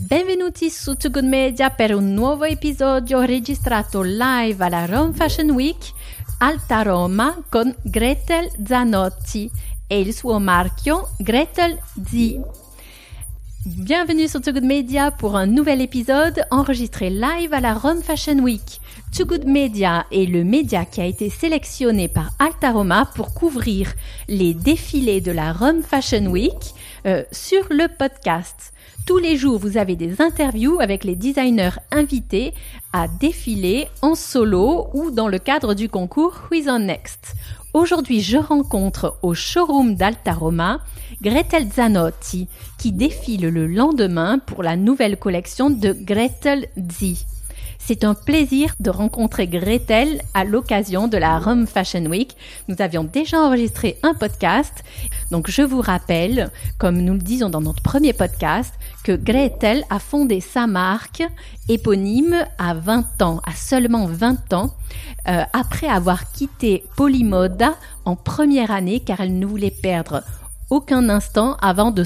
Benvenuti su Too Good Media per un nuovo episodio registrato live alla Rome Fashion Week Alta Roma con Gretel Zanotti e il suo marchio Gretel Z. Bienvenue sur Too Good Media pour un nouvel épisode enregistré live à la Rome Fashion Week. Too Good Media est le média qui a été sélectionné par Alta Roma pour couvrir les défilés de la Rome Fashion Week sur le podcast. Tous les jours, vous avez des interviews avec les designers invités à défiler en solo ou dans le cadre du concours Who is on Next. Aujourd'hui, je rencontre au showroom d'Alta Roma Gretel Zanotti qui défile le lendemain pour la nouvelle collection de Gretel Z. C'est un plaisir de rencontrer Gretel à l'occasion de la Rome Fashion Week. Nous avions déjà enregistré un podcast. Donc, je vous rappelle, comme nous le disons dans notre premier podcast, que Gretel a fondé sa marque éponyme à 20 ans, à seulement 20 ans, après avoir quitté Polymoda en première année car elle ne voulait perdre aucun instant avant de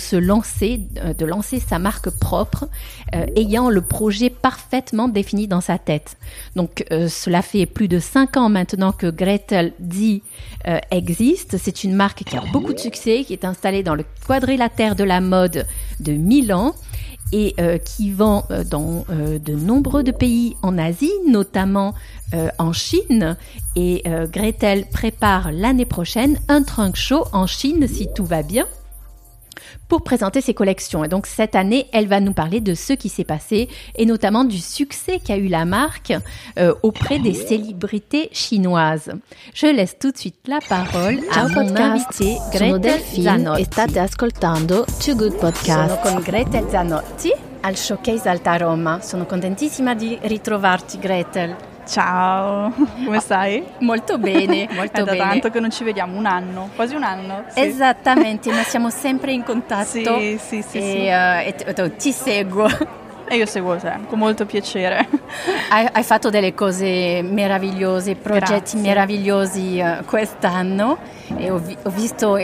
lancer sa marque propre, ayant le projet parfaitement défini dans sa tête. Donc, cela fait plus de 5 ans maintenant que Gretel Z existe. C'est une marque qui a beaucoup de succès, qui est installée dans le quadrilatère de la mode de Milan et qui vend dans de nombreux pays en Asie, notamment en Chine. Et Gretel prépare l'année prochaine un trunk show en Chine, si tout va bien, pour présenter ses collections. Et donc cette année, elle va nous parler de ce qui s'est passé et notamment du succès qu'a eu la marque auprès des célébrités chinoises. Je laisse tout de suite la parole à mon invité Gretel Zanotti. State ascoltando Too Good Podcast. Sono con Gretel Zanotti al Showcase Alta Roma. Sono contentissima di ritrovarti, Gretel. Ciao, come stai? Molto bene, molto bene. È da tanto che non ci vediamo, un anno, quasi un anno. Sì. Esattamente, ma siamo sempre in contatto. Sì. E ti seguo. E io seguo te, con molto piacere. Hai fatto delle cose meravigliose, progetti Grazie. meravigliosi quest'anno e ho visto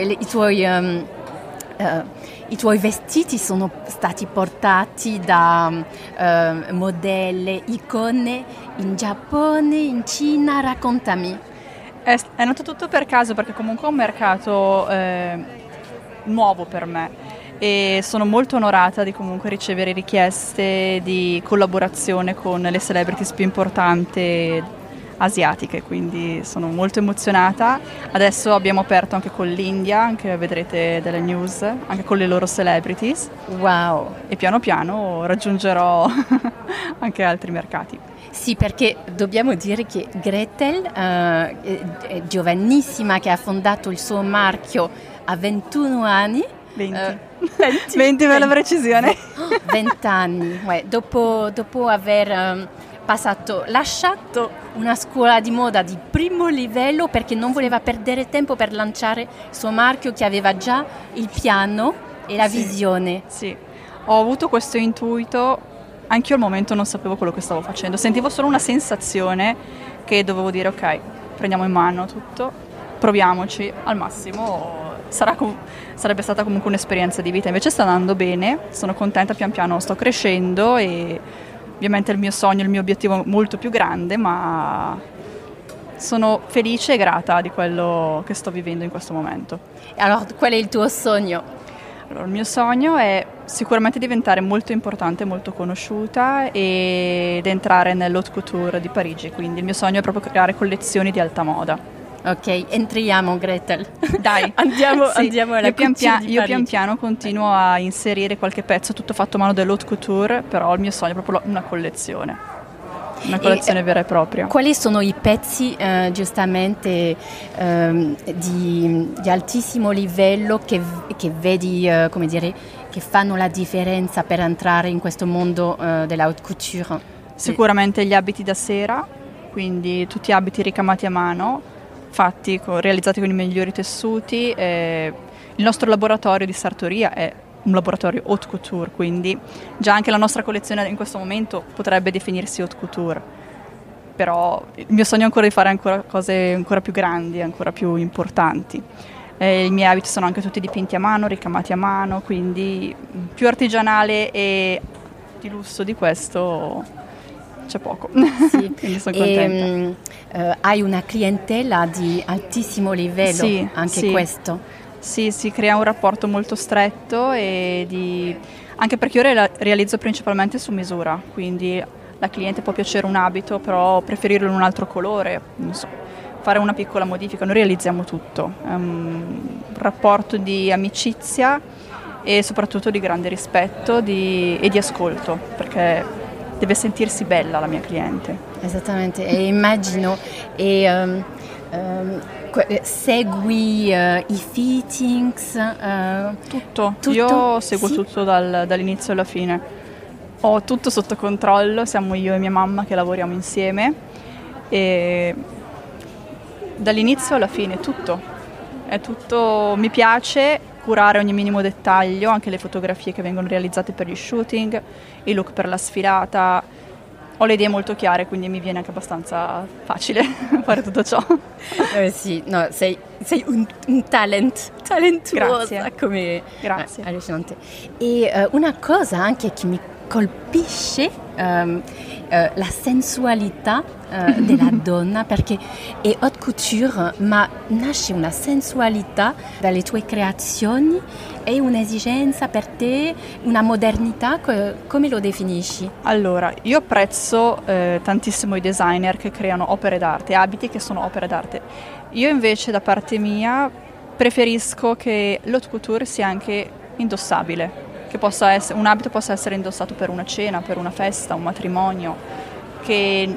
i tuoi vestiti sono stati portati da modelle, icone in Giappone, in Cina. Raccontami. È nato tutto per caso perché comunque è un mercato nuovo per me e sono molto onorata di comunque ricevere richieste di collaborazione con le celebrities più importanti asiatiche, quindi sono molto emozionata. Adesso abbiamo aperto anche con l'India, anche vedrete delle news, anche con le loro celebrities. Wow! E piano piano raggiungerò anche altri mercati. Sì, perché dobbiamo dire che Gretel è giovanissima, che ha fondato il suo marchio a 21 anni. 20 per la precisione. 20 anni, dopo aver lasciato una scuola di moda di primo livello perché non voleva perdere tempo per lanciare il suo marchio che aveva già il piano e la visione. Sì, ho avuto questo intuito, anch'io al momento non sapevo quello che stavo facendo, sentivo solo una sensazione che dovevo dire ok, prendiamo in mano tutto, proviamoci al massimo. Sarebbe stata comunque un'esperienza di vita, invece sta andando bene, sono contenta, pian piano sto crescendo e ovviamente il mio sogno, il mio obiettivo è molto più grande, ma sono felice e grata di quello che sto vivendo in questo momento. Allora, qual è il tuo sogno? Allora, il mio sogno è sicuramente diventare molto importante, molto conosciuta ed entrare nell'haute couture di Parigi, quindi il mio sogno è proprio creare collezioni di alta moda. Ok, entriamo, Gretel. Dai, andiamo alla io couture pian piano continuo a inserire qualche pezzo tutto fatto a mano dell'haute couture, però il mio sogno è proprio una collezione vera e propria. Quali sono i pezzi giustamente di altissimo livello che vedi, come dire, che fanno la differenza per entrare in questo mondo della haute couture? Sicuramente gli abiti da sera, quindi tutti abiti ricamati a mano, realizzati con i migliori tessuti. Il nostro laboratorio di sartoria è un laboratorio haute couture, quindi già anche la nostra collezione in questo momento potrebbe definirsi haute couture, però il mio sogno è ancora di fare ancora cose ancora più grandi, ancora più importanti. I miei abiti sono anche tutti dipinti a mano, ricamati a mano, quindi più artigianale e di lusso di questo c'è poco. Sì. Quindi sono contenta. Hai una clientela di altissimo livello, Sì, anche sì. questo. Sì, si crea un rapporto molto stretto anche perché io realizzo principalmente su misura, quindi la cliente può piacere un abito, però preferirlo in un altro colore, non so, fare una piccola modifica, noi realizziamo tutto. È un rapporto di amicizia e soprattutto di grande rispetto e di ascolto, perché deve sentirsi bella la mia cliente. Esattamente, e immagino, segui i fittings? Tutto. Tutto? Io seguo Sì. tutto dall'inizio alla fine. Ho tutto sotto controllo, siamo io e mia mamma che lavoriamo insieme e dall'inizio alla fine tutto. È tutto, mi piace curare ogni minimo dettaglio, anche le fotografie che vengono realizzate per gli shooting, i look per la sfilata. Ho le idee molto chiare, quindi mi viene anche abbastanza facile fare tutto ciò. Sì, no, sei un talentuosa. Grazie. Come Grazie. allucinante. E una cosa anche che mi colpisce, la sensualità della donna, perché è haute couture, ma nasce una sensualità dalle tue creazioni, è un'esigenza per te, una modernità, come lo definisci? Allora, io apprezzo tantissimo i designer che creano opere d'arte, abiti che sono opere d'arte. Io invece da parte mia preferisco che l'haute couture sia anche indossabile, che un abito possa essere indossato per una cena, per una festa, un matrimonio, che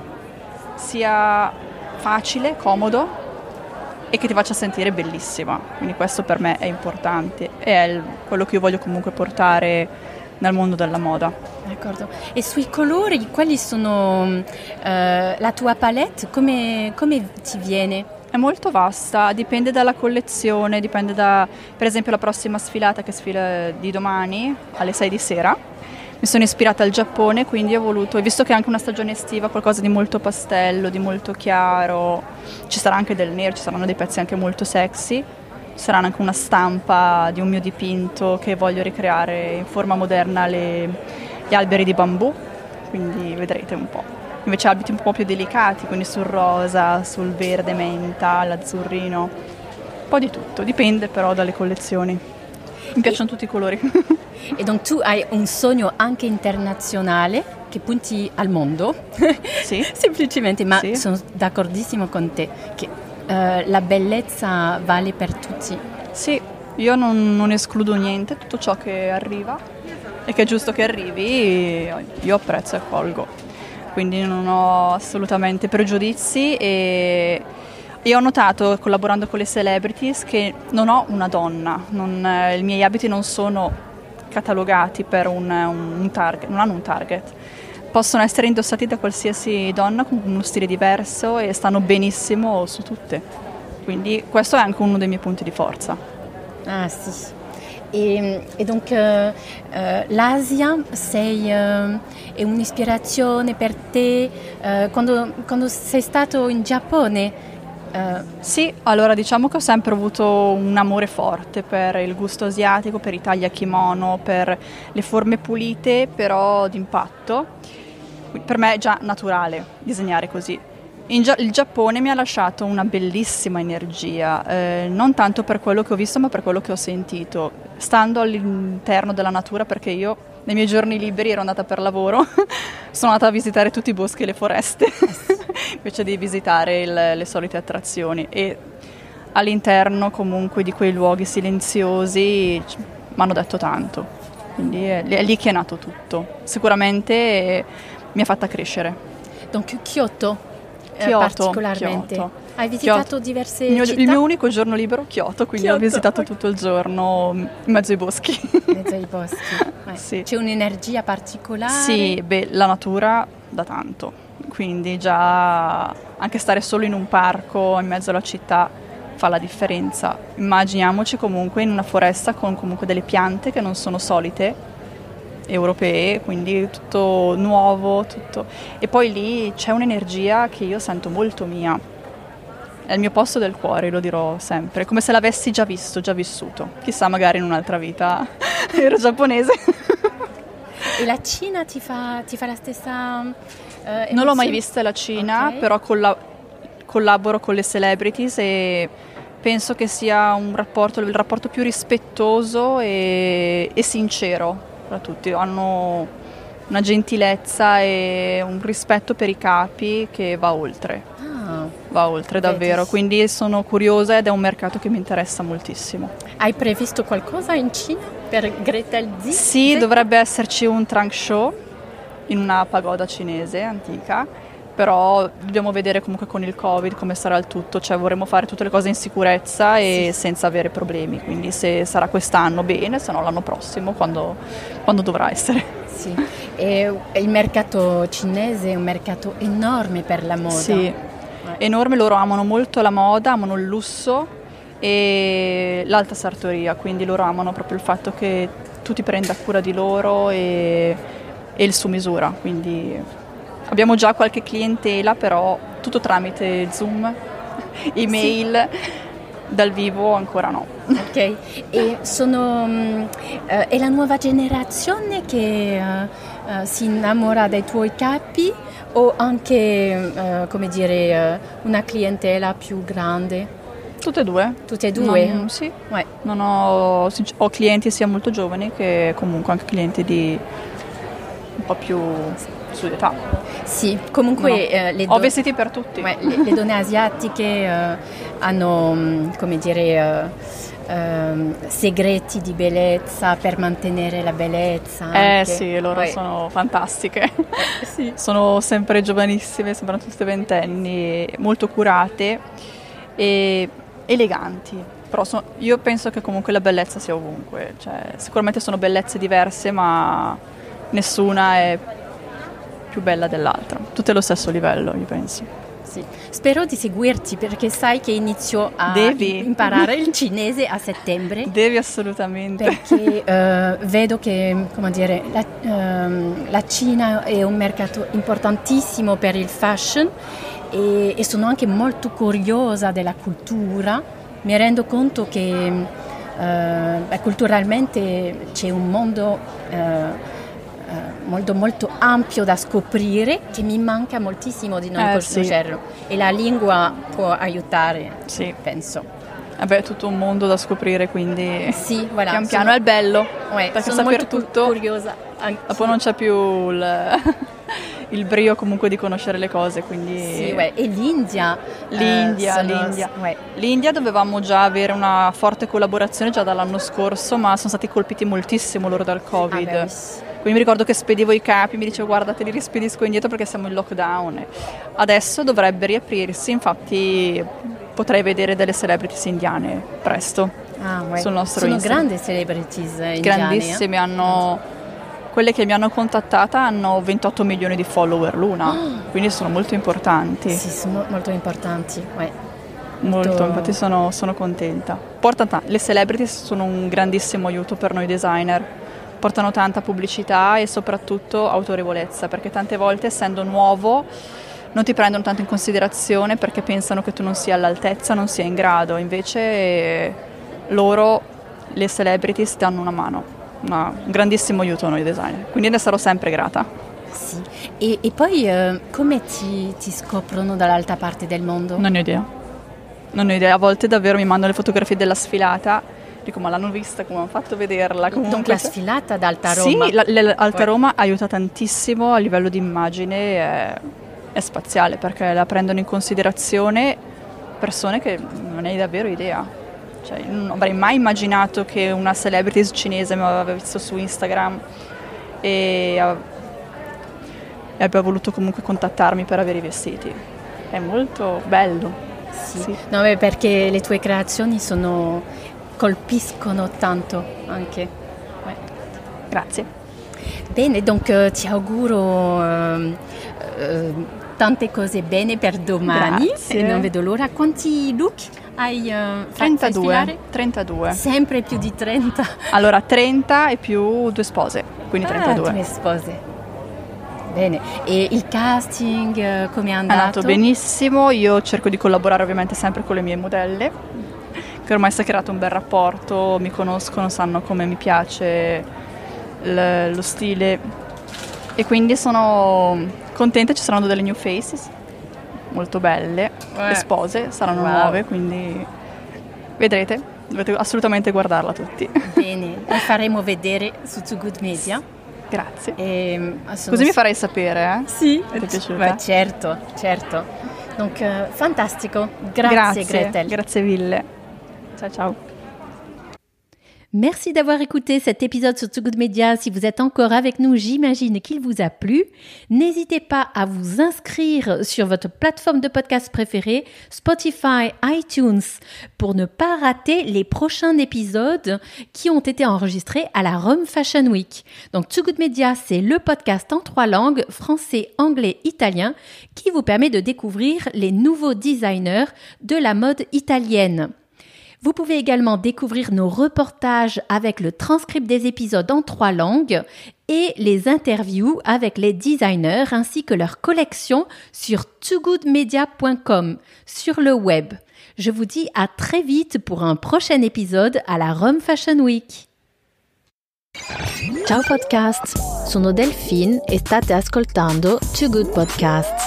sia facile, comodo e che ti faccia sentire bellissima. Quindi questo per me è importante e è quello che io voglio comunque portare nel mondo della moda. D'accordo. E sui colori, quali sono la tua palette? Come ti viene? È molto vasta, dipende dalla collezione, dipende per esempio la prossima sfilata che sfila di domani alle 6 di sera. Mi sono ispirata al Giappone, quindi ho voluto, e visto che è anche una stagione estiva, qualcosa di molto pastello, di molto chiaro, ci sarà anche del nero, ci saranno dei pezzi anche molto sexy, ci sarà anche una stampa di un mio dipinto che voglio ricreare in forma moderna gli alberi di bambù, quindi vedrete un po'. Invece abiti un po' più delicati, quindi sul rosa, sul verde menta, l'azzurrino, un po' di tutto, dipende però dalle collezioni. Mi piacciono tutti i colori. E donc tu hai un sogno anche internazionale che punti al mondo, Sì. semplicemente, ma Sì. sono d'accordissimo con te che la bellezza vale per tutti. Sì, io non escludo niente, tutto ciò che arriva e che è giusto che arrivi, io apprezzo e accolgo. Quindi non ho assolutamente pregiudizi e ho notato, collaborando con le celebrities, che non ho una donna, i miei abiti non sono catalogati per un target, non hanno un target. Possono essere indossati da qualsiasi donna con uno stile diverso e stanno benissimo su tutte. Quindi questo è anche uno dei miei punti di forza. Ah sì. E donc l'Asia è un'ispirazione per te quando sei stato in Giappone? Sì, allora diciamo che ho sempre avuto un amore forte per il gusto asiatico, per i tagli a kimono, per le forme pulite però d'impatto. Per me è già naturale disegnare così. Il Giappone mi ha lasciato una bellissima energia, non tanto per quello che ho visto ma per quello che ho sentito, stando all'interno della natura, perché io nei miei giorni liberi ero andata per lavoro, sono andata a visitare tutti i boschi e le foreste invece di visitare le solite attrazioni, e all'interno comunque di quei luoghi silenziosi mi hanno detto tanto, quindi è lì che è nato tutto, sicuramente mi ha fatta crescere. Donc Kyoto. Kyoto, Particolarmente. Kyoto. Hai visitato Kyoto. diverse Il città? mio unico giorno libero, Kyoto, quindi Kyoto, ho visitato ok. tutto il giorno in mezzo ai boschi. In mezzo ai boschi. Sì. C'è un'energia particolare? Sì, la natura da tanto, quindi già anche stare solo in un parco in mezzo alla città fa la differenza. Immaginiamoci comunque in una foresta con comunque delle piante che non sono solite, europee, quindi tutto nuovo, tutto. E poi lì c'è un'energia che io sento molto mia. È il mio posto del cuore, lo dirò sempre, come se l'avessi già visto, già vissuto. Chissà, magari in un'altra vita ero giapponese. E la Cina ti fa la stessa Non l'ho mai vista la Cina, Okay. però collaboro con le celebrities e penso che sia il rapporto più rispettoso e sincero tra tutti. Hanno una gentilezza e un rispetto per i capi che va oltre. Va oltre davvero, Vedi. quindi sono curiosa ed è un mercato che mi interessa moltissimo. Hai previsto qualcosa in Cina per Gretel Z? Sì, dovrebbe esserci un trunk show in una pagoda cinese antica, però dobbiamo vedere comunque con il Covid come sarà il tutto, cioè vorremmo fare tutte le cose in sicurezza e senza avere problemi, quindi se sarà quest'anno bene, se no l'anno prossimo quando dovrà essere. Sì. E il mercato cinese è un mercato enorme per la moda. Sì, enorme, loro amano molto la moda, amano il lusso e l'alta sartoria, quindi loro amano proprio il fatto che tu ti prenda cura di loro e il su misura, quindi abbiamo già qualche clientela, però tutto tramite Zoom, email, dal vivo ancora no. Ok, e è la nuova generazione che si innamora dei tuoi capi o anche, come dire, una clientela più grande? Tutte e due. Tutte e due? Sì. Ouais. Non ho clienti sia molto giovani che comunque anche clienti di un po' più su di età. Sì, comunque Ho vestiti per tutti. le donne asiatiche hanno, come dire, segreti di bellezza per mantenere la bellezza. Anche. Sì, loro sono fantastiche. Sì. Sono sempre giovanissime, sembrano tutte ventenni, molto curate e eleganti. Però io penso che comunque la bellezza sia ovunque. Cioè, sicuramente sono bellezze diverse, ma nessuna è più bella dell'altra. Tutte allo stesso livello, io penso. Sì. Spero di seguirti perché sai che inizio a imparare il cinese a settembre. Devi assolutamente. Perché vedo che, come dire, la Cina è un mercato importantissimo per il fashion e sono anche molto curiosa della cultura. Mi rendo conto che culturalmente c'è un mondo molto molto ampio da scoprire che mi manca moltissimo di non conoscerlo e la lingua può aiutare, penso. È tutto un mondo da scoprire, quindi sì, voilà, pian piano è il bello, perché sono saper molto tutto curiosa. Dopo non c'è più il brio comunque di conoscere le cose, quindi sì, e l'India l'India dovevamo già avere una forte collaborazione già dall'anno scorso, ma sono stati colpiti moltissimo loro dal Covid. Quindi mi ricordo che spedivo i capi, mi dicevo guarda te li rispedisco indietro perché siamo in lockdown. Adesso dovrebbe riaprirsi, infatti potrei vedere delle celebrities indiane presto sul nostro Instagram. Sono grandi celebrities indiane. Grandissime, quelle che mi hanno contattata hanno 28 milioni di follower l'una, quindi sono molto importanti. Sì, sono molto importanti. Molto, infatti sono contenta. Le celebrities sono un grandissimo aiuto per noi designer. Portano tanta pubblicità e soprattutto autorevolezza, perché tante volte essendo nuovo non ti prendono tanto in considerazione perché pensano che tu non sia all'altezza, non sia in grado, invece loro, le celebrities, danno una mano, un grandissimo aiuto a noi designer, quindi ne sarò sempre grata. Sì. E poi come ti scoprono dall'altra parte del mondo? Non ho idea, a volte davvero mi mandano le fotografie della sfilata. Dico, ma l'hanno vista, come hanno fatto a vederla? Comunque la sfilata ad Alta Roma. Sì, Alta Roma aiuta tantissimo a livello di immagine, è spaziale perché la prendono in considerazione persone che non hai davvero idea. Cioè, non avrei mai immaginato che una celebrity cinese mi aveva visto su Instagram e abbia voluto comunque contattarmi per avere i vestiti. È molto bello. Sì. No, perché le tue creazioni colpiscono tanto anche. Grazie. Bene, donc ti auguro tante cose bene per domani. Grazie. E non vedo l'ora. Quanti look hai 32. Sempre più di 30. Allora 30 e più 2 spose, quindi 32. 2 spose. Bene, e il casting come è andato? È andato benissimo, io cerco di collaborare ovviamente sempre con le mie modelle, che ormai si è creato un bel rapporto, mi conoscono, sanno come mi piace lo stile E quindi sono contenta, ci saranno delle new faces molto belle, le spose saranno nuove, quindi vedrete, dovete assolutamente guardarla tutti. Bene, la faremo vedere su Too Good Media. Grazie. Così mi farai sapere, Sì, ti è piaciuta? certo. Donc, fantastico. Grazie Gretel. Grazie mille. Ciao. Merci d'avoir écouté cet épisode sur Too Good Media. Si vous êtes encore avec nous, j'imagine qu'il vous a plu. N'hésitez pas à vous inscrire sur votre plateforme de podcast préférée, Spotify, iTunes, pour ne pas rater les prochains épisodes qui ont été enregistrés à la Rome Fashion Week. Donc Too Good Media, c'est le podcast en 3 langues, français, anglais, italien, qui vous permet de découvrir les nouveaux designers de la mode italienne. Vous pouvez également découvrir nos reportages avec le transcript des épisodes en 3 langues et les interviews avec les designers ainsi que leur collection sur toogoodmedia.com sur le web. Je vous dis à très vite pour un prochain épisode à la Rome Fashion Week. Ciao podcast, sono Delphine e state ascoltando Too Good Podcast.